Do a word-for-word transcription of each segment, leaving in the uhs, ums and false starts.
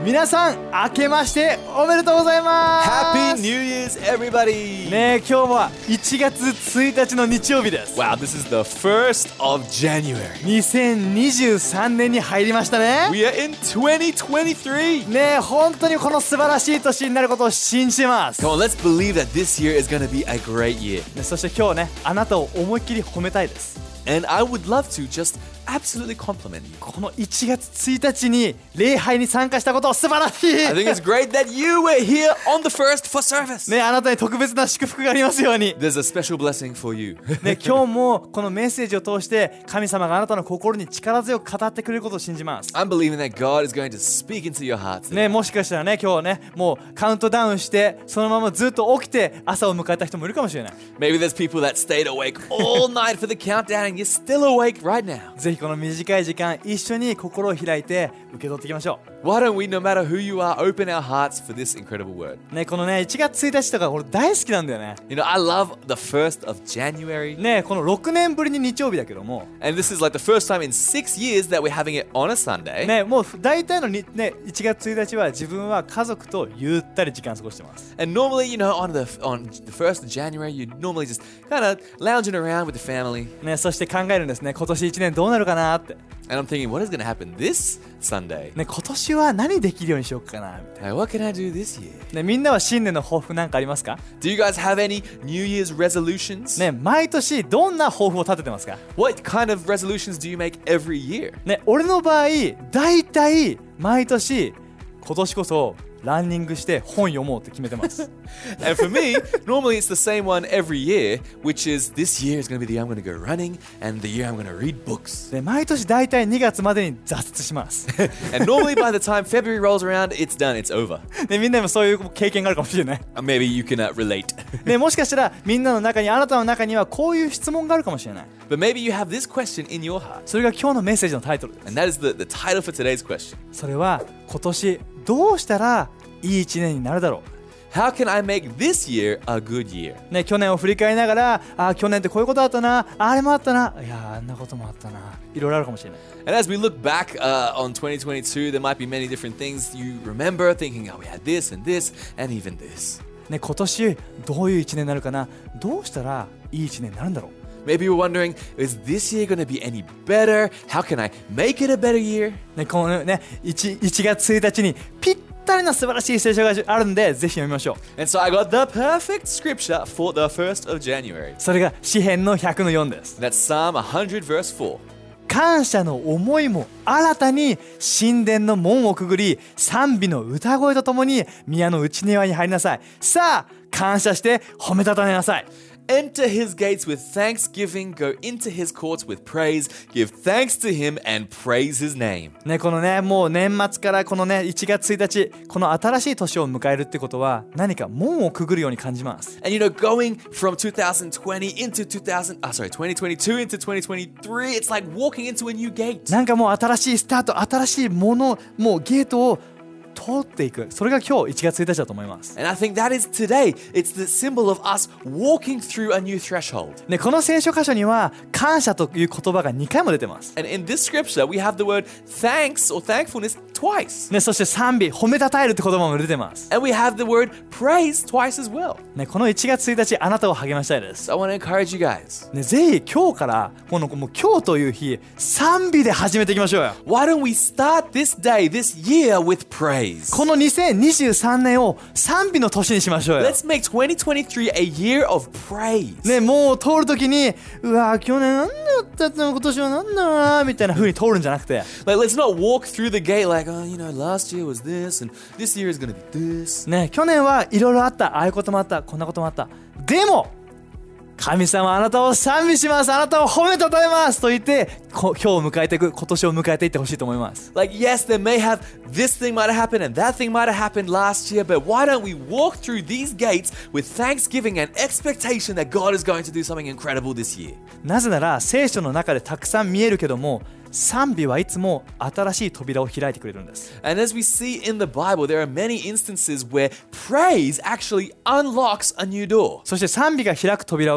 皆さん明けましておめでとうございます。 Happy New Year's, everybody! ねえ、今日はいちがつついたちの日曜日です。 Wow, this is the first of January. にせんにじゅうさんねんに入りましたね。 We are in twenty twenty-three. ねえ、本当にこの素晴らしい年になることを信じてます。 Come on, let's believe that this year is going to be a great year. ね、そして今日ね、あなたを思いっきり褒めたいです。 And I would love to just absolutely compliment you. このいちがつついたちに礼拝に参加したことを素晴らしい。 I think it's great that you were here on the first for service. ね、あなたに特別な祝福がありますように。 There's a special blessing for you. ね、今日もこのメッセージを通して神様があなたの心に力強く語ってくれることを信じます。 I'm believing that God is going to speak into your hearts. ね、もしかしたらね、今日ね、もうカウントダウンしてそのままずっと起きて朝を迎えた人もいるかもしれない。 Maybe there's people that stayed awake all night for the countdown and you're still awake right now. ぜひこの短い時間一緒に心を開いて受け取っていきましょ Why don't we, no matter who you are, open our hearts for this incredible word? う。ね、このね、いちがつついたちとか俺大好きなんだよね。 You know, I love the first of January. ね、このろくねんぶりに日曜日だけども、 And this is like the first time in six years that we're having it on a Sunday. ね、もう大体のに、ね、いちがつついたちは自分は家族とゆったり時間過ごしてます。 And normally, you know, on the on the first of January, you normally just kind of lounging around with the family. ね、そして考えるんですね。今年いちねんどうなるかなって。 And I'm thinking, what is going to happen this Sunday? ね、今年は何できるようにしようかなみたい Hey, what can I do this year? な。ね、みんなは新年の抱負なんかありますか？ Do you guys have any New Year's resolutions? ね、毎年どんな抱負を立ててますか？ What kind of resolutions do you make every year? ね、俺の場合大体毎年今年こそランニングして本読もうって決めてます。 And for me, normally it's the same one every year, which is this year is going to be the year I'm going to go running and the year I'm going to read books. で、毎年大体にがつまでに挫折します。 And normally by the time February rolls around, it's done, it's over. ね、みんなもそういう経験があるかもしれない。 Or maybe you can uh, relate. ね、もしかしたらみんなの中にあなたの中にはこういう質問があるかもしれない。 But maybe you have this question in your heart. それが今日のメッセージのタイトルです。 And that is the, the title for today's question. それは今年どうしたらいい一年になるだろう。 How can I make this year a good year? ね、去年を振り返りながら、あ、去年ってこういうことあったな、あれもあったな、いや、あんなこともあったな、いろいろあるかもしれない。 And as we look back uh, on twenty twenty-two, there might be many different things you remember thinking, oh, we had this and this and even this. ね、今年どういう一年になるかな、どうしたらいい一年になるんだろう。 Maybe you're wondering, is this year going to be any better? How can I make it a better year? ね、このね、いちがつついたちにぴったりな素晴らしい聖書があるんで、ぜひ読みましょう。 And so I got the perfect scripture for the first of January. それが詩編のひゃくのよんです。 That's Psalm one hundred verse four. 感謝の思いも新たに神殿の門をくぐり、賛美の歌声とともに宮の内庭に入りなさい。さあ、感謝して褒めたたえなさい。 Enter his gates with thanksgiving, go into his courts with praise, give thanks to him and praise his name. ね、このね、もう年末からこのね、いちがつついたち、この新しい年を迎えるってことは何か門をくぐるように感じます。 And you know, going from twenty twenty into two thousand, uh, sorry, twenty twenty-two into twenty twenty-three, it's like walking into a new gate. なんかもう新しいスタート、新しいもの、もうゲートを通っていく。それが今日いちがつついたちだと思います。 And I think that is today. It's the symbol of us walking through a new threshold. ね、この聖書箇所には感謝という言葉がにかいも出てます。 And in this scripture, we have the word thanks or thankfulness twice. ね、そして賛美、褒めたたえるって言葉も出てます。 And we have the word praise twice as well. ね、このいちがつついたち、あなたを励ましたいです。 So I want to encourage you guys. ね、ぜひ今日からこのもう今日という日、賛美で始めていきましょうよ。 Why don't we start this day, this year with praise? このにせんにじゅうさんねんを賛美の年にしましょうよ。 Let's make twenty twenty-three a year of praise. ね、もう通るときに、うわ、去年なんだったって今年はなんだろうなみたいな風に通るんじゃなくて、 Like, let's not walk through the gate like, oh, you know, last year was this and this year is going to be this. ね、去年はいろいろあった、ああいうこともあった、こんなこともあった。でも神様あなたを賛美します、あなたを褒めたたえますと言ってこ今日を迎えていく、今年を迎えていってほしいと思います。 Like, yes, there may have this thing might have happened and that thing might have happened last year, but why don't we walk through these gates with thanksgiving and expectation that God is going to do something incredible this year? なぜなら聖書の中でたくさん見えるけども、賛美はいつも新しい扉を開いてくれるんです。 And as we see in the Bible, there are many instances where praise actually unlocks a new door. そして賛美が開く扉は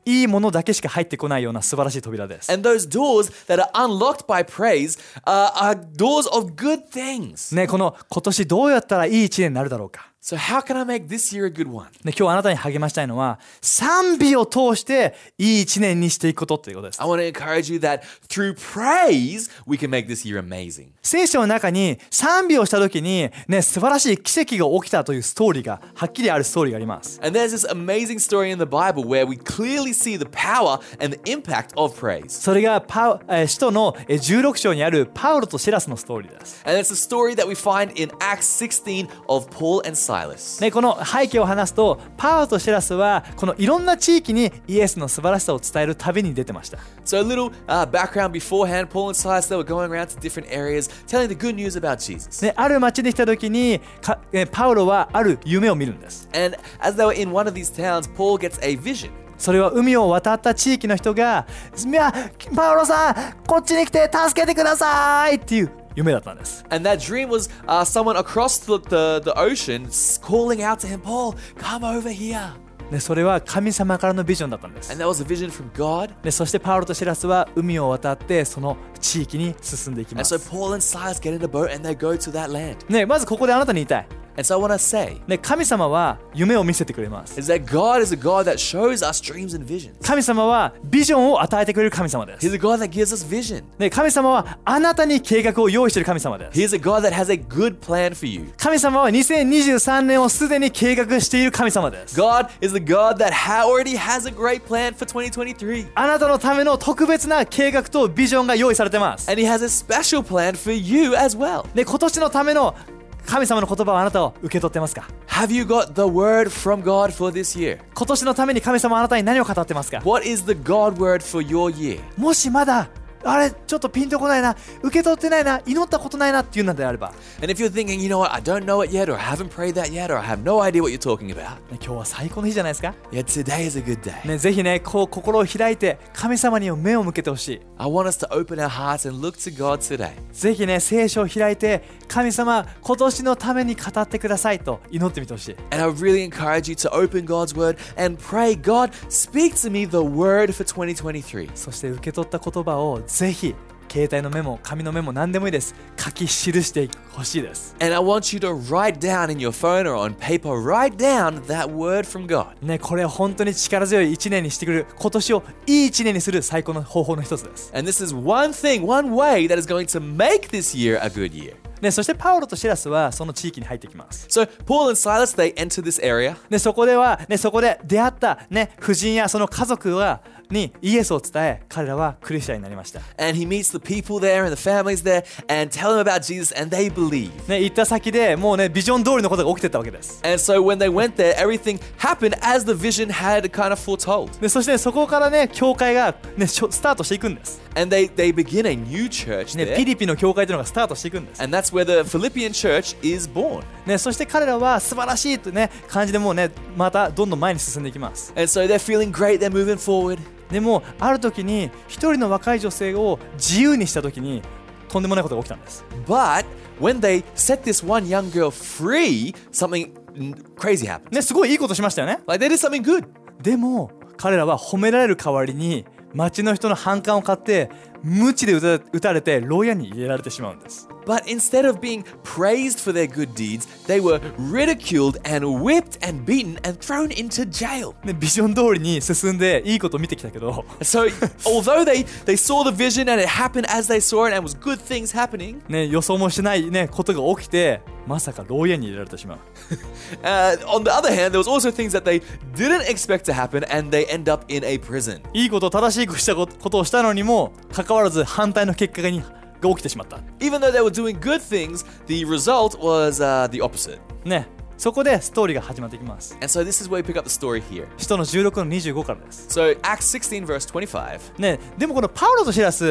いいものだけしか入ってこないような素晴らしい扉です。 And those doors that are unlocked by praise uh, are doors of good things. ね、この今年どうやったらいい一年になるだろうか。 So how can I make this year a good one? ね、今日あなたに励ましたいのは賛美を通していい一年にしていくことということです。 I want to encourage you that through praise, we can make this year amazing. 聖書の中に賛美をした時に、ね、素晴らしい奇跡が起きたというストーリーがはっきりあるストーリーがあります。 And there's this amazing story in the Bible where we clearly see the power and the impact of praise. それがパウ、えー、使徒のえーじゅうろく章にあるパウロとシラスのストーリーです。 And it's a story that we find in Acts sixteen of Paul and Silas. ね、この背景を話すとパウロとシラスはこのいろんな地域にイエスの素晴らしさを伝える旅に出てました。 So a little uh, background beforehand, Paul and Silas, they were going around to different areas telling the good news about Jesus. ね、ある町に来た時にかえーパウロはある夢を見るんです。 And as they were in one of these towns, Paul gets a vision. それは海を渡った地域の人がいやパウロさんこっちに来て助けてくださいっていう夢だったんです。 And that dream was uh, someone across the, the, the ocean calling out to him, Paul, come over here. でそれは神様からのビジョンだったんです。 And that was a vision from God. でそしてパウロとシラスは海を渡ってその地域に進んでいきま And so す。 Paul and Silas get in a boat and they go to that land. ね、まずここであなたに言いたい。 And so I want to say ね、神様は夢を見せてくれます。 is that God is a God that shows us dreams and visions. 神様はビジョンを与えてくれる神様です。 He's a God that gives us vision. ね、神様はあなたに計画を用意している神様です。 He's a God that has a good plan for you. 神様はにせんにじゅうさんねんをすでに計画している神様です。 God is the God that ha- already has a great plan for twenty twenty-three. あなたのための特別な計画とビジョンが用意されてます。 And He has a special plan for you as well. ね、今年のための神様の言葉をあなたを受け取ってますか？ Have you got the word from God for this year? 今年のために神様はあなたに何を語ってますか？ What is the God word for your year? もしまだあれちょっとピンとこないな、受け取ってないな、祈ったことないなっていうのであれば、 And if you're thinking, you know what, I don't know it yet, or I haven't prayed that yet, or I have no idea what you're talking about, ね、今日は最高の日じゃないですか？ yeah, today is a good day. ね、ぜひね、こう心を開いて神様に目を向けてほしい。 I want us to open our hearts and look to God today. ぜひね、聖書を開いて神様今年のために語ってくださいと祈ってみてほしい。 And I really encourage you to open God's word and pray, God, speak to me the word for twenty twenty-three. そして受け取った言葉をぜひ携帯のメモ、紙のメモ何でもいいです。書き記してほしいです。 And I want you to write down in your phone or on paper, write down that word from God. ね、これは本当に力強い一年にしてくれる、今年をいい一年にする最高の方法の一つです。 And this is one thing, one way that is going to make this year a good year. ね、そしてパウロとシラスはその地域に入ってきます。 So Paul and Silas, they enter this area. ね、そこでは、ね、そこで出会った、ね、夫人やその家族はにイエスを伝え、彼らはクリスチャンになりました。 And he meets the people there and the families there and tell them about Jesus and they believe. ね、行った先でもうね、ビジョン通りのことが起きてたわけです。 And so when they went there, everything happened as the vision had kind of foretold. でそして、ね、そこからね、教会が、ね、スタートしていくんです。 And they, they begin a new church ね、 there. ピリピの教会というのがスタートしていくんです。 And that's where the Philippian church is born. ね、そして彼らは素晴らしいという、ね、感じでもうね、またどんどん前に進んでいきます。 And so they're feeling great, they're moving forward. でもある時に一人の若い女性を自由にした時にとんでもないことが起きたんです。 But when they set this one young girl free, something crazy happened. ね、すごいいいことしましたよね。 Like they did something good. でも彼らは褒められる代わりに町の人の反感を買って鞭で打た撃たれて牢屋に入れられてしまうんです。 But instead of being praised for their good deeds, they were ridiculed and whipped and beaten and thrown into jail. ね、ビジョン通りに進んでいいことを見てきたけど、 So although they, they saw the vision and it happened as they saw it and was good things happening, ね、予想もしない、ね、ことが起きてまさか牢屋に入れられてしまう。 uh, on the other hand, there was also things that they didn't expect to happen and they end up in a prison. いいこと正しいことをしたのにもかかわらず反対の結果にが起きてしまった。 Even though they were doing good things, the result was uh, the opposite. ね、そこでストーリーが始まっていきます。 And so this is where we pick up the story here. 使徒のじゅうろくのにじゅうごからです。 So Acts sixteen verse twenty-five. ね、でもこのパウロとシラス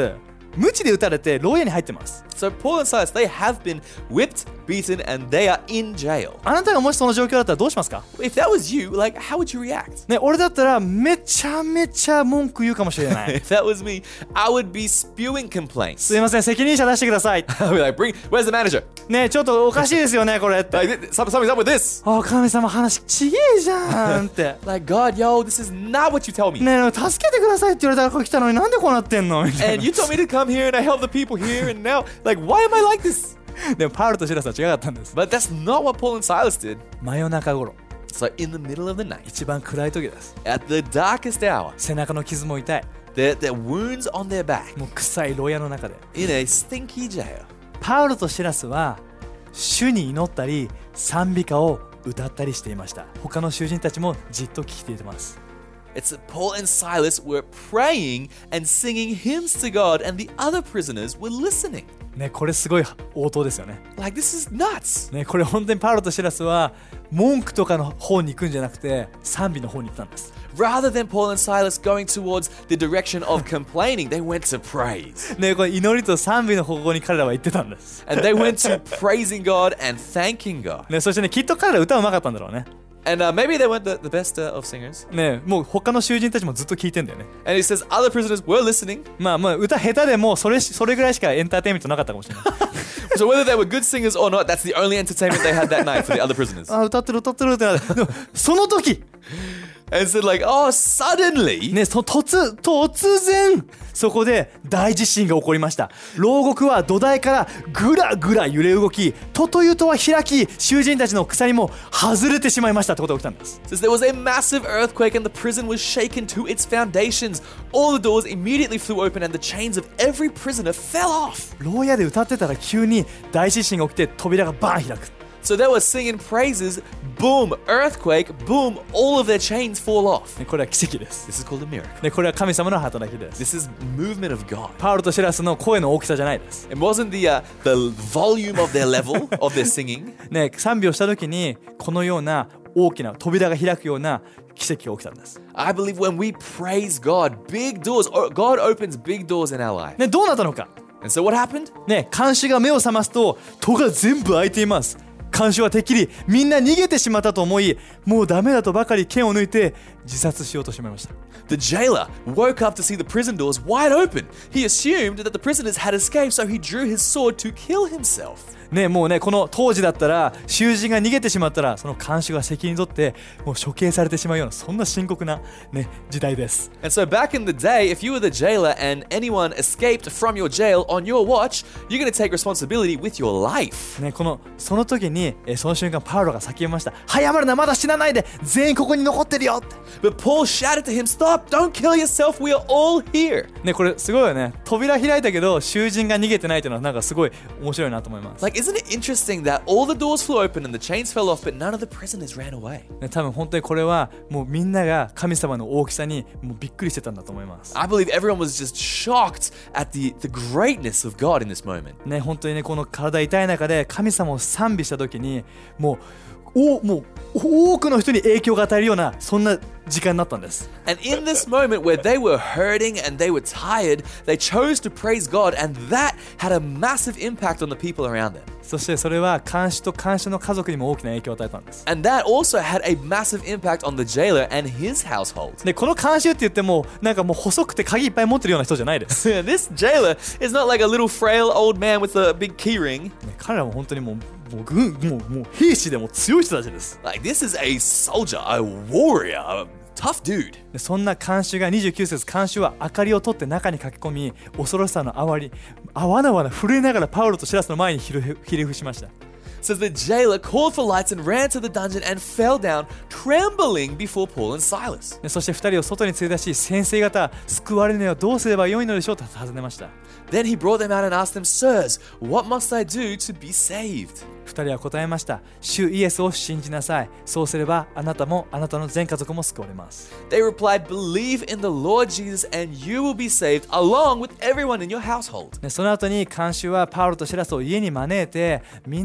鞭で打たれて牢屋に入ってます。 So Paul and Silas, they have been whipped, beaten, and they are in jail. あなたがもしその状況だったらどうしますか？ If that was you, like, how would you react? ね、俺だったらめちゃめちゃ文句言うかもしれない。 If that was me, I would be spewing complaints. すいません、責任者出してください。 I'd be like, bring, where's the manager? ね、ちょっとおかしいですよね、これって。 Like, something, something's up with this. あ、神様話ちげえじゃんって。 Like, God, yo, this is not what you tell me. ね、助けてくださいって言われたからここ来たのになんでこうなってんのみたい And you told me to come here and I help the people here and now, like, why am I like this? な。でもパウロとシラスは違かったんです。 But that's not what Paul and Silas did. 真夜中頃、 So in the middle of the night, 一番暗い時です。 at the darkest hour, 背中の傷も痛い。 their, their wounds on their back, もう臭い牢屋の中で。 in a stinky jail. パウロとシラスは主に祈ったり賛美歌を歌ったりしていました。他の囚人たちもじっと聞いています。 It's that Paul and Silas were praying and singing hymns to God, and the other prisoners were listening. ね、これすごい応答ですよね。 Like, this is nuts. ね、これ本当にパウロとシラスは文句とかの方に行くんじゃなくて賛美の方に行ったんです。 Rather than Paul and Silas going towards the direction of complaining, they went to praise. ね、これ祈りと賛美の方向に彼らは行ってたんです。 And they went to praising God and thanking God. ね、そしてね、きっと彼ら歌うまかったんだろうね。 And uh, maybe they weren't the, the best uh, of singers. ね、もう他の囚人たちもずっと聞いてんだよね。 And he says other prisoners were listening. まあまあ歌下手でもそれそれぐらいしかエンターテインメントなかったかもしれない。 So whether they were good singers or not, that's the only entertainment they had that night for the other prisoners. あ、歌ってる歌ってるってなって。でもその時 And said like, oh, suddenly, ね、そ突突然そこで大地震が起こりました。牢獄は土台からぐらぐら揺れ動き、とというとは開き、囚人たちの鎖も外れてしまいましたってことが起きたんです。 says there was a massive earthquake and the prison was shaken to its foundations. All the doors immediately flew open and the chains of every prisoner fell off. 牢屋で歌ってたら急に大地震が起きて扉がバーン開く。 So they were singing praises, boom, earthquake, boom, all of their chains fall off. ね、これは奇跡です。 This is called a miracle. ね、これは神様の働きです。 This is movement of God. パウロとシラスの声の大きさじゃないです。 It wasn't the uh, the volume of their level of their singing. ね、賛美をした時にこのような大きな扉が開くような奇跡が起きたんです。 I believe when we praise God, big doors, God opens big doors in our life. ね、どうなったのか。 And so what happened? ね、看守が目を覚ますと戸が全部開いています。看守はてっきりみんな逃げてしまったと思い、もうダメだとばかり剣を抜いて自殺しようとしまいました。 The jailer woke up to see the prison doors wide open. He assumed that the prisoners had escaped, so he drew his sword to kill himself. ね、もうね、この当時だったら囚人が逃げてしまったらその看守が責任取ってもう処刑されてしまうようなそんな深刻な、ね、時代です。 And so back in the day, if you were the jailer and anyone escaped from your jail on your watch, you're going to take responsibility with your life. ね、このその時にえその瞬間パウロが叫びました。早まるな、まだ死なないで、全員ここに残ってるよって。 But Paul shouted to him, "Stop! Don't kill yourself. We are all here." ね、これすごいよね。扉開いたけど囚人が逃げてないというのはなんかすごい面白いなと思います。 Like, isn't it interesting that all the doors flew open and the chains fell off, but none of the prisoners ran away? ね、多分本当にこれはもうみんなが神様の大きさにもうびっくりしてたんだと思います。 I believe everyone was just shocked at the, the greatness of God in this moment. ね、本当にね、この体痛い中で神様を賛美した時にもうおもう多くの人に影響が与えるようなそんな時間になったんです。 And in this moment where they were hurting and they were tired, they chose to praise God, and that had a massive impact on the people around them. そしてそれは看守と看守の家族にも大きな影響を与えたんです。 And that also had a massive impact on the jailer and his household. でこの看守って言ってもなんかもう細くて鍵いっぱい持ってるような人じゃないです。ね、 This jailer is not like a little frail old man with a big keyring. 彼らも本当にもうもう軍もうもう兵士でも強い人たちです。 Like, this is a soldier, a warrior, a tough dude. でそんな看守がにじゅうきゅう節、看守は明かりを取って中に駆け込み、恐ろしさのあわりあわなわな震えながらパウロとシラスの前にひれひれ伏しました。 Says the jailer called for lights and ran to the dungeon and fell down, trembling before Paul and Silas. でそしてふたりを外に連れ出し、先生方救われるにはどうすればよいのでしょうと尋ねました。 Then he brought them out and asked them, "Sirs, what must I do to be saved?" ふたりは答えました。主イエスを信じなさい。そうすればあなたもあなたの全家族も救われます。 They replied, "Believe in the Lord Jesus and you will be saved, along with everyone in your household." でその後に看守はパウロとシラスを家に招いて、みんなが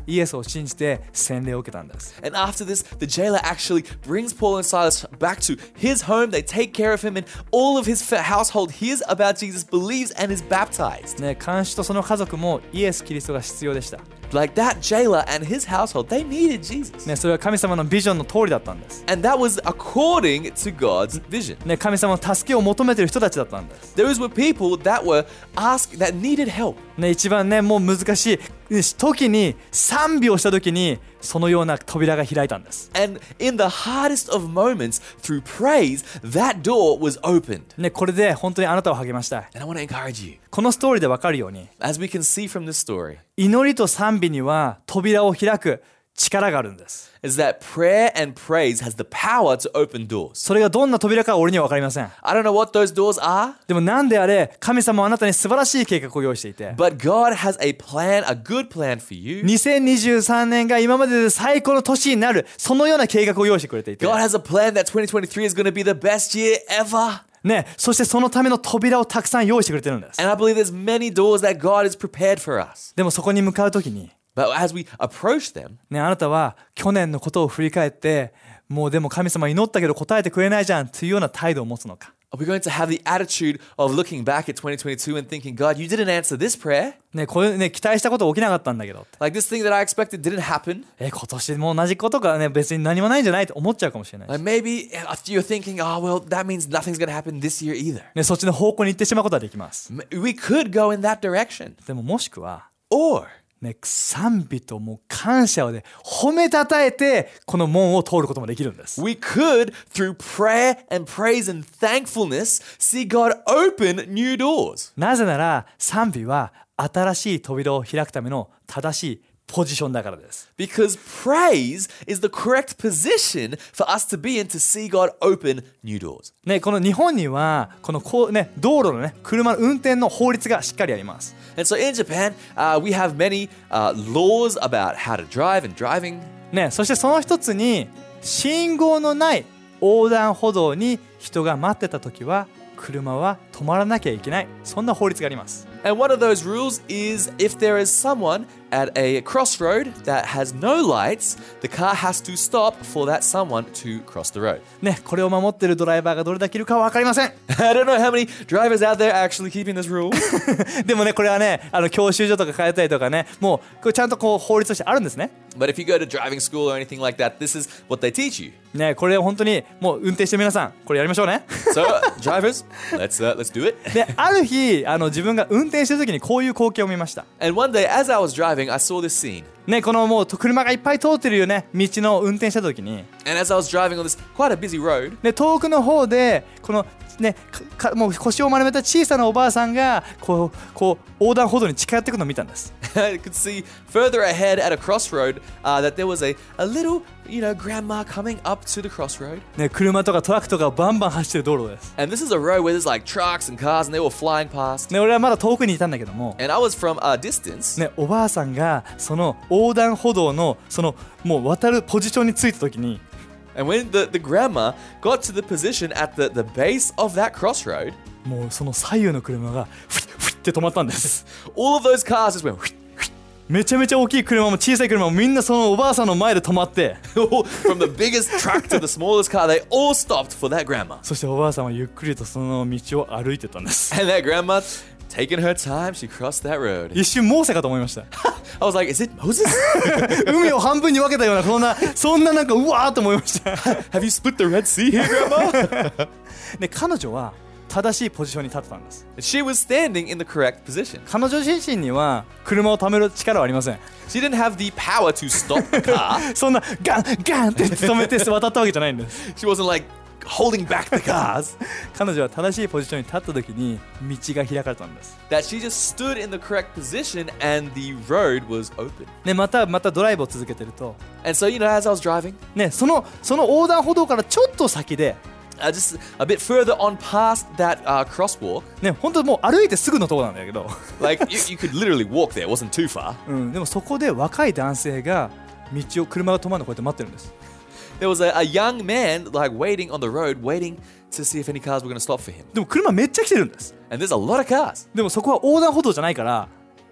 イエスを信じて洗礼を受けたんです。 And after this, the jailer actually brings Paul and Silas back to his home. They take care of him, and all of his household hears about Jesus, believes, and is baptized. ね、看守とその家族もイエス・キリストが必要でした。 Like that jailer and his household, they needed Jesus. ね、それは神様のビジョンの通りだったんです。 And that was according to God's vision. ね、神様の助けを求めている人たちだったんです。 Those were people that were asked, that needed help. ね、一番ね、もう難しい時に賛美をした時にそのような扉が開いたんです。 And in the hardest of moments, through praise, that door was opened. ね、これで本当にあなたを励ましたい。 And I want to encourage you. このストーリーで分かるように、 As we can see from this story, 祈りと賛美には扉を開く力があるんです。 is that prayer and praise has the power to open doors. それがどんな扉かは俺には分かりません。 I don't know what those doors are, でもなんであれ、神様はあなたに素晴らしい計画を用意していて、 but God has a plan, a good plan for you. にせんにじゅうさんねんが今までで最高の年になる、そのような計画を用意してくれていて、 God has a plan that twenty twenty-three is going to be the best year ever. ね、そしてそのための扉をたくさん用意してくれてるんです。 And I believe there's many doors that God has prepared for us. でもそこに向かうときに、 But as we approach them, ね、あなたは去年のことを振り返って、もうでも神様祈ったけど答えてくれないじゃんというような態度を持つのか。 are we going to have the attitude of looking back at twenty twenty-two and thinking, God, you didn't answer this prayer? ね、これね、期待したこと起きなかったんだけど。 Like this thing that I expected didn't happen. え、今年も同じことがね、別に何もないんじゃないと思っちゃうかもしれないし。 Like maybe you're thinking, oh, well, that means nothing's going to happen this year either. ね、そっちの方向に行ってしまうことはできます。 We could go in that direction. でももしくは、 Or, ね、賛美ともう感謝をで褒めたたえてこの門を通ることもできるんです。 we could, through prayer and praise and thankfulness, see God open new doors. なぜなら賛美は新しい扉を開くための正しいポジションだからです。 Because praise is the correct position for us to be in to see God open new doors. ね、この日本にはこのこう、ね、道路の、ね、車の運転の法律がしっかりあります。 And so in Japan, uh, we have many uh, laws about how to drive and driving. ね、そしてその一つに信号のない横断歩道に人が待ってた時は車は止まらなきゃいけない、そんな法律があります。 And one of those rules is if there is someone at a crossroad that has no lights, the car has to stop for that someone to cross the road. ね、これを守っているドライバーがどれだけいるかは分かりません。 I don't know how many drivers out there are actually keeping this rule. でもね、これはね、あの教習所とか通ったりとかね、もうこれちゃんとこう法律としてあるんですね。 But if you go to driving school or anything like that, this is what they teach you. ね、これ本当にもう運転して皆さんこれやりましょうね。 So, drivers, let's uh, let's do it. で、ある日あの自分が運転してる時にこういう光景を見ました。 And one day, as I was driving, I saw this scene. ね、このもう車がいっぱい通ってるよね、道の運転した時に、 And as I was driving on this quite a busy road, ね、遠くの方でこのね、かかもう腰を丸めた小さなおばあさんがこうこう横断歩道に近寄ってくるのを見たんです。 I could see further ahead at a crossroad uh, that there was a, a little, you know, grandma coming up to the crossroad. ね、車とかトラックとかバンバン走ってる道路です。 And this is a road where there's like trucks and cars and they were flying past. ね、俺はまだ遠くにいたんだけども、 And I was from a distance. ね、おばあさんがその横断歩道のそのもう渡るポジションについた時に、 And when the, the grandma got to the position at the, the base of that crossroad, もうその左右の車がフィッフィッって止まったんです。 all of those cars just went めちゃめちゃ大きい車も小さい車もみんなそのおばあさんの前で止まって、 from the biggest truck to the smallest car, they all stopped for that grandma. そしておばあさんはゆっくりとその道を歩いてたんです。 And that grandma, taking her time, she crossed that road. 一瞬モーセかと思いました。 I was like, is it Moses? 海を半分に分けたようなそんなそんななんかうわーと思いました。 Have you split the Red Sea here, grandma? で、彼女は正しいポジションに立ってたんです。 She was standing in the correct position. 彼女自身には車を止める力はありません。 She didn't have the power to stop the car. そんなガンガンって止めて渡ったわけじゃないんです。 She wasn't like holding back the cars. 彼女は正しいポジションに立った時に道が開かれたんです。 That she just stood in the correct position and the road was open. ね、またまたドライブを続けてると、 And so, you know, as I was driving, ね、そのその横断歩道からちょっと先で、 uh, just a bit further on past that uh, crosswalk, ね、本当もう歩いてすぐのところなんだけど、 like you, you could literally walk there. It wasn't too far. うん、でもそこで若い男性が道を車が止まるのをこうやって待ってるんです。 There was a, a young man like waiting on the road, waiting to see if any cars were going to stop for him. でも車めっちゃ来てるんです。 And there's a lot of cars. でもそこは横断歩道じゃないから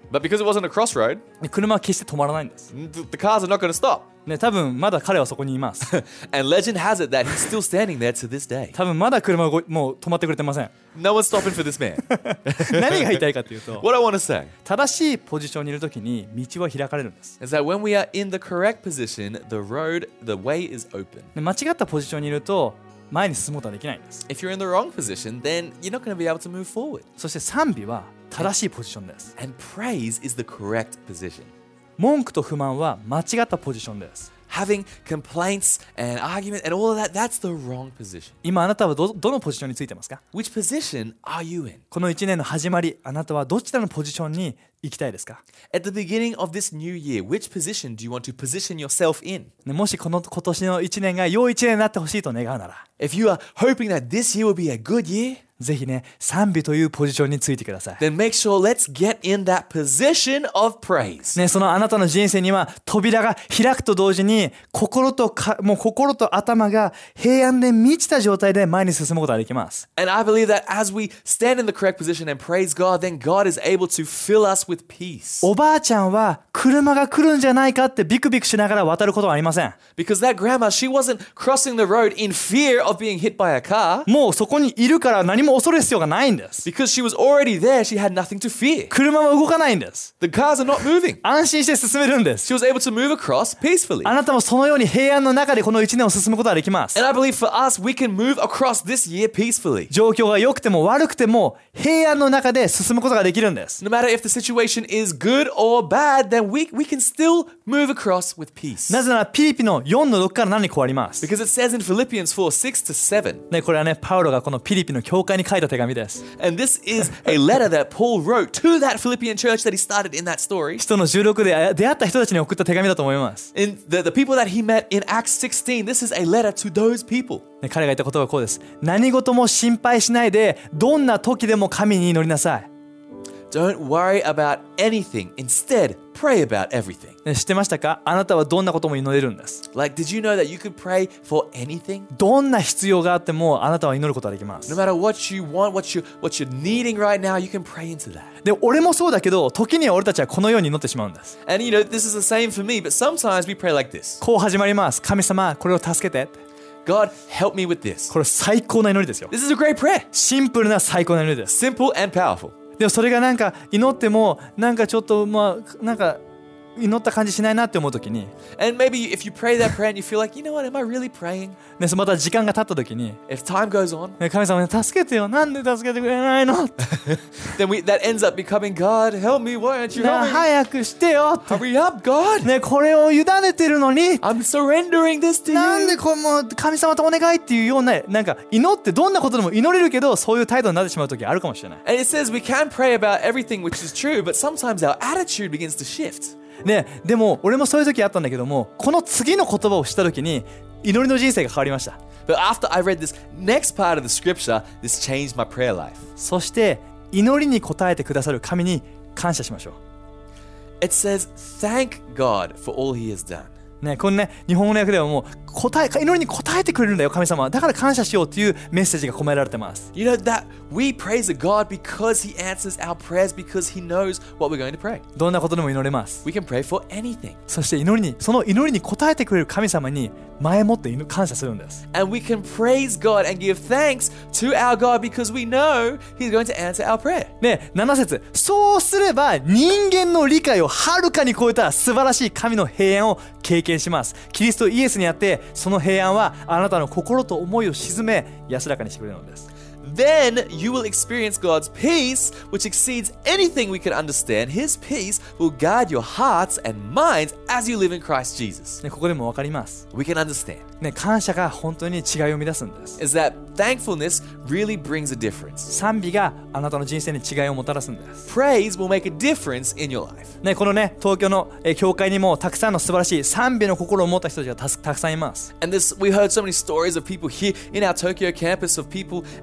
But because it wasn't a crossroad, で車は決して止まらないんです。 the, the cars are not going to stop. ね、多分まだ彼はそこにいます。 And legend has it that he's still standing there to this day. 多分まだ車がもう止まってくれてません。 No one's stopping for this man. 何が言いたいかというと、 What I want to say 正しいポジションにいるときに道は開かれるんです。 is that when we are in the correct position, the road, the way is open. で間違ったポジションにいると前に進むことはできないんです。 If you're in the wrong position, then you're not going to be able to move forward. そして賛美は正しいポジションです。 And praise is the correct position. 文句と不満は間違ったポジションです。 Having complaints and argument and all of that, that's the wrong position. 今あなたは ど, どのポジションについてますか？ Which position are you in? このいちねんの始まり、あなたはどちらのポジションに行きたいですか？ At the beginning of this new year, which position do you want to position yourself in? ね、もしこの今年のいちねんが良いいちねんになってほしいと願うなら、 If you are hoping that this year will be a good year, ぜひね、賛美というポジションについてください。 then make sure let's get in that position of praise. ね、そのあなたの人生には扉が開くと同時に心とかもう心と頭が平安で満ちた状態で前に進むことができます。 And I believe that as we stand in the correct position and praise God, then God is able to fill us with peace. おばあちゃんは車が来るんじゃないかってビクビクしながら渡ることはありません。 Because that grandma, she wasn't crossing the road in fear of being hit by a car. もうそこにいるから何も恐れる必要がないんです。 Because she was already there, she had nothing to fear. 車は動かないんです。 The cars are not moving. 安心して進めるんです。 She was able to move across peacefully. あなたもそのように平安の中でこのいちねんを進むことができます。 And I believe for us, we can move across this year peacefully. 状況が良くても悪くても平安の中で進むことができるんです。 No matter if the situation is good or bad, then we, we can still move across with peace. なぜならピリピのよんのろくからななにこうあります。 Because it says in Philippians four, six to seven. ね、これはね、パウロがこのピリピの教会に書いた手紙です。 And this is a letter that Paul wrote to that Philippian church that he started in that story. 使徒のじゅうろくで出会った人たちに送った手紙だと思います。 In the, the people that he met in Acts sixteen, this is a letter to those people. ね、彼が言ったことはこうです。何事も心配しないで、どんな時でも神に祈りなさい。 Don't worry about anything. Instead, pray about everything. ね、知ってましたか？あなたはどんなことも祈れるんです。 Like, did you know that you could pray for anything? どんな必要があってもあなたは祈ることができます。 No matter what you want, what you what you're needing right now, you can pray into that. で、俺もそうだけど、時には俺たちはこのように祈ってしまうんです。 And you know, this is the same for me, but sometimes we pray like this. こう始まります。神様、これを助けて。 God, help me with this. これ最高な祈りですよ。 This is a great prayer. シンプルな最高な祈りです。 Simple and powerful. でもそれがなんか祈ってもなんかちょっとまあなんか祈った感じしないなって思うときに、 And maybe if you pray that prayer and you feel like, you know what, am I really praying? ね、また時間が経ったときに、 If time goes on, ね、神様ね、助けてよ、なんで助けてくれないの？ then we that ends up becoming, God, help me, why aren't you ね、 helping me? 早くしてよって、 Hurry up, God. ね、これを委ねてるのに、 I'm surrendering this to なんで you. これもう神様とお願いっていうような、なんか祈ってどんなことでも祈れるけど、そういう態度になってしまうときあるかもしれない。 And it says we can pray about everything, which is true, but sometimes our attitude begins to shift. ね、でも俺もそういう時あったんだけども、この次の言葉を知った時に祈りの人生が変わりました。 But after I read this next part of the scripture, this changed my prayer life. そして祈りに応えてくださる神に感謝しましょう。 It says, thank God for all he has done. ね、このね、日本語の訳ではもう答え祈りに応えてくれるんだよ神様、だから感謝しようというメッセージが込められてます。 You know that we praise God because he answers our prayers because he knows what we're going to pray. どんなことでも祈れます。 We can pray for anything. そして祈りにその祈りに応えてくれる神様に前もって感謝するんです。 And we can praise God and give thanks to our God because we know he's going to answer our prayer. ね、なな節、そうすれば人間の理解をはるかに超えた素晴らしい神の平安を経験します。キリストイエスにあってその平安はあなたの心と思いを鎮め安らかにしてくれるのです。 Then you will experience God's peace, which exceeds anything we can understand. His peace will guard your hearts and minds as you live in Christ Jesus. ね、ここでも分かります。 We can understand. ね、感謝が本当に違いを生み出すんです。 Is that thankfulness really brings a difference. 賛美があなたの人生に違いをもたらすんです。 Praise will make a difference in your life. ね、このね、東京の、えー、教会にもたくさんの素晴らしい賛美の心を持った人たちが た, たくさんいます。 And this, we heard so many stories of people here in our Tokyo campus of people uh, through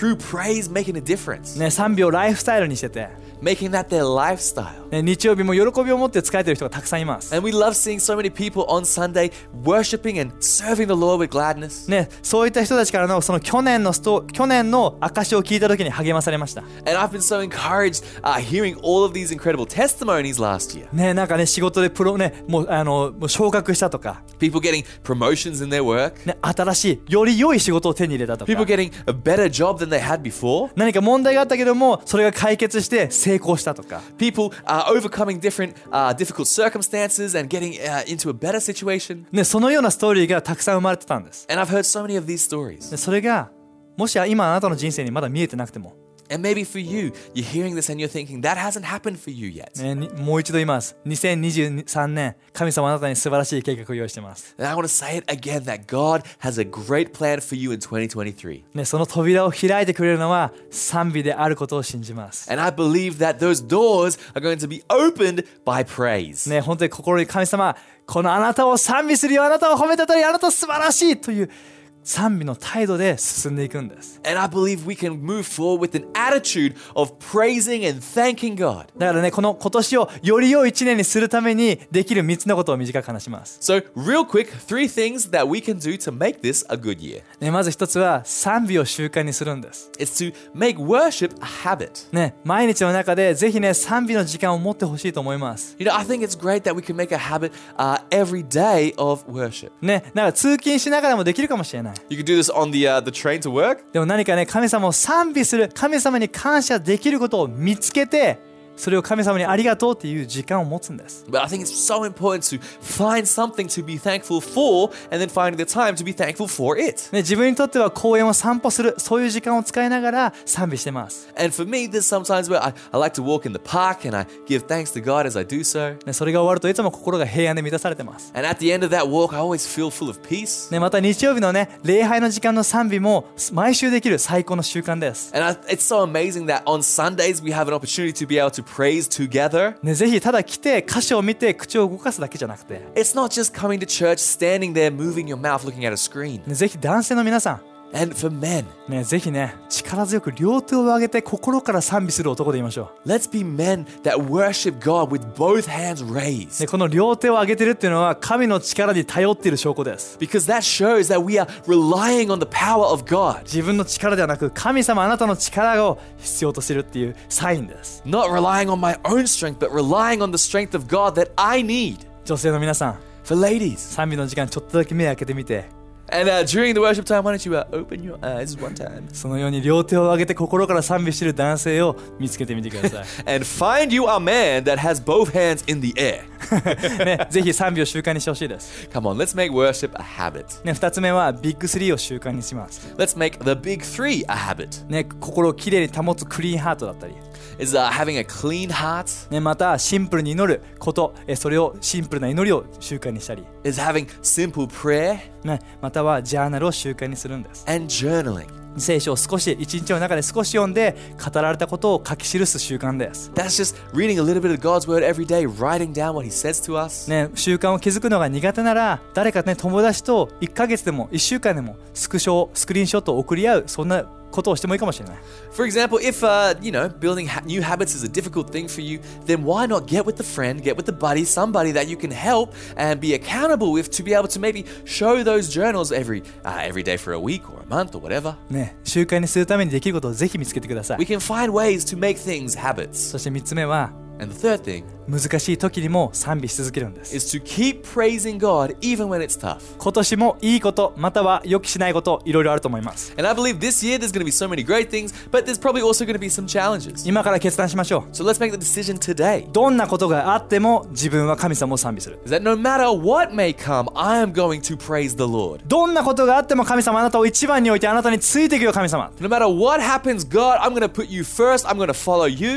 through praise making a difference. ね、賛美をライフスタイルにしてて、 Making that their lifestyle. ね、日曜日も喜びを持って使えてる人がたくさんいます。 And we love seeing so many people on Sunday worshiping and serving the Lord with gladness. ね、そういった人たちからのその去年のスト去年の証を聞いた時に励まされました。 And I've been so encouraged uh, hearing all of these incredible testimonies last year. ね、なんかね、仕事でプロね、もうあのもう昇格したとか、 People getting promotions in their work. ね、新しいより良い仕事を手に入れたとか、 People getting a better job than they had before. 何か問題があったけどもそれが解決して成功したとか、 People uh, overcoming different uh, difficult circumstances and getting uh, into a better situation. ね、そのようなストーリーがたくさん生まれてたんです。 And I've heard so many of these stories. でそれがもし今あなたの人生にまだ見えてなくても、 And maybe for you, you're hearing this and you're thinking, that hasn't happened for you yet. ね、にもう一度言います。にせんにじゅうさんねん、神様あなたに素晴らしい計画を用意しています。 And I want to say it again, that God has a great plan for you in twenty twenty-three. ね、その扉を開いてくれるのは賛美であることを信じます。 And I believe that those doors are going to be opened by praise. ね、本当に心に神様、このあなたを賛美するよ、あなたを褒めたたり、あなた素晴らしいという賛美の態度で進んでいくんです。 And I believe we can move forward with an attitude of praising and thanking God. だからね、この今年をより良い一年にするためにできるみっつのことを短く話します。 So, real quick, three things that we can do to make this a good year. ね、まず一つは賛美を習慣にするんです。 It's to make worship a habit. ね、毎日の中でぜひね、賛美の時間を持ってほしいと思います。 You know, I think it's great that we can make a habit uh, every day of worship. ね、なんか通勤しながらもできるかもしれない。 You can do this on the uh, the train to work. でも何かね、神様を賛美する、神様に感謝できることを見つけて、それを神様にありがとうっていう時間を持つんです。 But I think it's so important to find something to be thankful for and then finding the time to be thankful for it. ね、自分にとっては公園を散歩する、そういう時間を使いながら賛美してます。 And for me, there's sometimes where I, I like to walk in the park and I give thanks to God as I do so. ね、それが終わるといつも心が平安で満たされてます。 And at the end of that walk, I always feel full of peace. ね、また日曜日のね、礼拝の時間の賛美も毎週できる最高の習慣です。 And I, it's so amazing that on Sundays we have an opportunity to be able to praise together. ね、ぜひただ来て歌詞を見て口を動かすだけじゃなくて、 It's not just coming to church, standing there, moving your mouth, looking at a screen. ね、ぜひ男性の皆さん、 And for men, ね、ぜひね、力強く両手を上げて心から賛美する男でいましょ let's be men that worship God with both hands う。 raised. ね、この両手を上げてるっていうのは神の力に頼っている証拠です。 Because that shows that we are relying on the power of God. 自分の力ではなく神様あなたの力を必要としてるっていうサインです。 Not relying on my own strength, but relying on the strength of God that I need. 女性の皆さん、 For ladies. 賛美の時間ちょっとだけ目開けてみて、 And uh, during the worship time, why don't you uh, open your eyes one time そのように両手を上げて心から賛美している男性を見つけてみてください。 and find you a man that has both hands in the air. ね、ぜひ賛美を習慣にしてほしいです。 Come on, let's make worship a habit. ね、二つ目はビッグスリーを習慣にします。 Let's make the big three a habit. ね、心をきれいに保つクリーンハートだったり、 Is uh, having a clean heart. ね、またシンプルに祈ること、えそれをシンプルな祈りを習慣にしたり、 Is having simple prayer ね、またはジャーナルを習慣にするんです。 and journaling. 聖書を少し一日の中で少し読んで語られたことを書き記す習慣です。 That's just reading a little bit of God's word every day, writing down what He says to us. ね、習慣を築くのが苦手なら誰かね、友達といっかげつでもいっしゅうかんでもスクショスクリーンショットを送り合う、そんなことをしてもいいかもしれない。 For example, if uh, you know, building ha- new habits is a difficult thing for you, then why not get with the friend, get with the buddy, somebody that you can help and be accountable with to be able to maybe show those journals every uh, every day for a week or a month or whatever. ね、習慣にするためにできることをぜひ見つけてくださ We い。 can find ways to make things habits. そしてみっつめは And the third thing 難しい時にも賛美し続けるんです。 is to keep praising God even when it's tough. 今年もいいことまたは予期しないこといろいろあると思います。 And I believe this year there's going to be so many great things, but there's probably also going to be some challenges. 今から決断しましょう。 So let's make the decision today. どんなことがあっても自分は神様を賛美する。 Is that no matter what may come, I am going to praise the Lord. どんなことがあっても神様あなたを一番に置いてあなたについていくよ神様。 No matter what happens, God, I'm going to put you first. I'm going to follow you.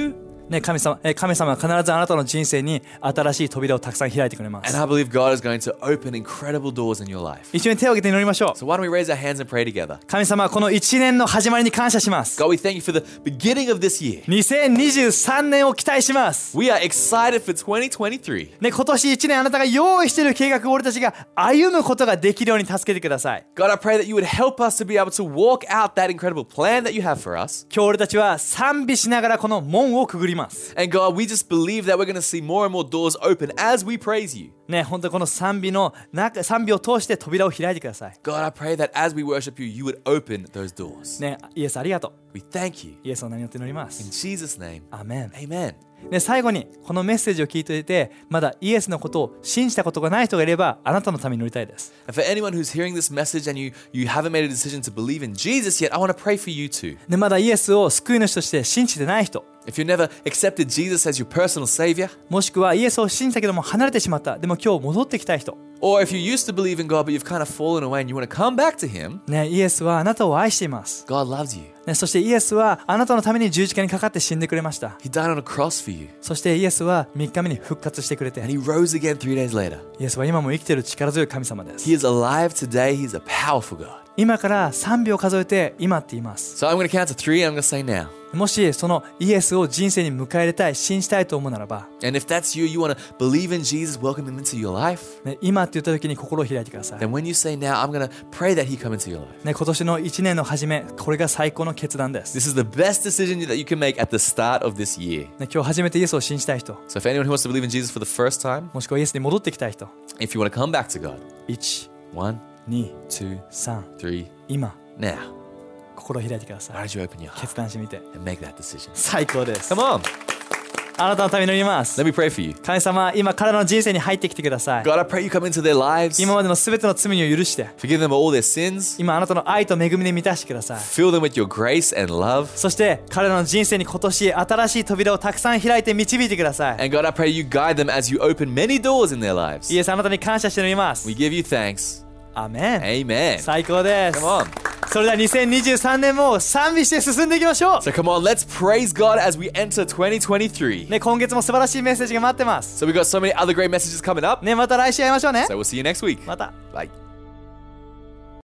ね、神様、え神様は必ずあなたの人生に新しい扉をたくさん開いてくれま And す。 I believe God is going to open incredible doors in your life. 一緒に手を挙げて祈りましょう。 So why don't we raise our hands and pray together? 神様、この一年の始まりに感謝します。 God, we thank you for the beginning of this year. にせんにじゅうさんねんを期待します。 We are excited for twenty twenty-three. ね、今年一年あなたが用意している計画を俺たちが歩むことができるように助けてください。 God, I pray that you would help us to be able to walk out that incredible plan that you have for us. 今日俺たちは賛美しながらこの門をくぐります。 And God, we just believe that we're going to see more and more doors open as we praise you. ね、本当にこの賛美の中、賛美を通して扉を開いてください。 God, I pray that as we worship you, you would open those doors. ね、イエスありがとう。 We thank you. イエスの名によって祈りま In す。 Jesus' name, アーメン。 amen. ね、最後にこのメッセージを聞いていてまだイエスのことを信じたことがない人がいればあなたのために祈りたいです。 And for anyone who's hearing this message and you, you haven't made a decision to believe in Jesus yet, I want to pray for you too. でまだイエスを救い主として信じてない人 If you've never accepted Jesus as your personal savior, もしくはイエスを信じたけども離れてしまったでも今日戻ってきたい人 or if you used to believe in God but you've kind of fallen away and you want to come back to Him, ね、イエスはあなたを愛しています、 God loves you. ね、そしてイエスはあなたのために十字架にかかって死んでくれました。 He died on a cross for you そしてイエスはみっかめに復活してくれて and He rose again three days later. イエスは今も生きている力強い神様です。 He is alive today. He's a powerful God. 今からさんびょう数えて今って言います。 So I'm going to count to three and I'm going to say now. もしそのイエスを人生に迎え入れたい信じたいと思うならば、 And if that's you, you want to believe in Jesus, welcome Him into your life, ね、今って言った時に心を開いてください。 then when you say now, I'm going to pray that He come into your life. ね、今年のいちねんの初め、これが最高の決断です。 This is the best decision that you can make at the start of this year. ね、今日初めてイエスを信じたい人、 So if anyone who wants to believe in Jesus for the first time, もしくはイエスに戻ってきたい人、 if you want to come back to God, いち、 one, に、 two, さん、 three, 今、 now. 心を開いてくださ Why い。 don't you open your heart 決断してみて。 and make that decision? 最高です。 Come on, あなたのために祈ります。 let me pray for you. 神様、今彼らの人生に入ってきてください。 God, I pray you come into their lives, 今までのすべての罪を許して、 forgive them of all their sins, 今あなたの愛と恵みで満たしてください。 fill them with your grace and love. そして彼らの人生に今年新しい扉をたくさん開いて導いてください。 And God, I pray you guide them as you open many doors in their lives. イエス、あなたに感謝して祈ります。 We give you thanks. アーメン。 Amen. 最高です。 Come on. それではにせんにじゅうさんねんも賛美して進んでいきましょう。 So come on, let's praise God as we enter twenty twenty-three. ね、今月も素晴らしいメッセージが待ってます。 So we've got so many other great messages coming up. ね、また来週会いましょうね。 So we'll see you next week. また。 Bye.